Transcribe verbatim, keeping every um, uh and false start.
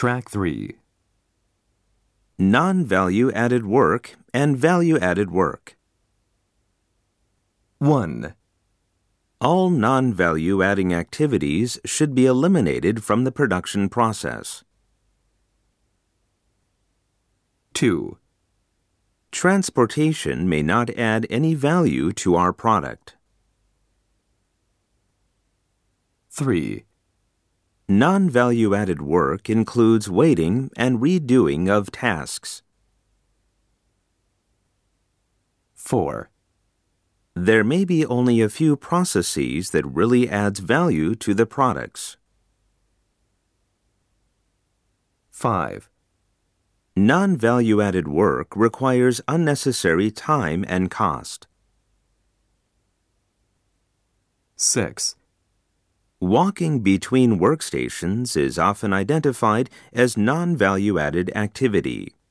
Track three. Non-value added work and value added work. one. All non-value adding activities should be eliminated from the production process. two. Transportation may not add any value to our product. three. Non-value added work includes waiting and redoing of tasks. four. There may be only a few processes that really adds value to the products. five. Non-value added work requires unnecessary time and cost. six. Walking between workstations is often identified as non-value added activity.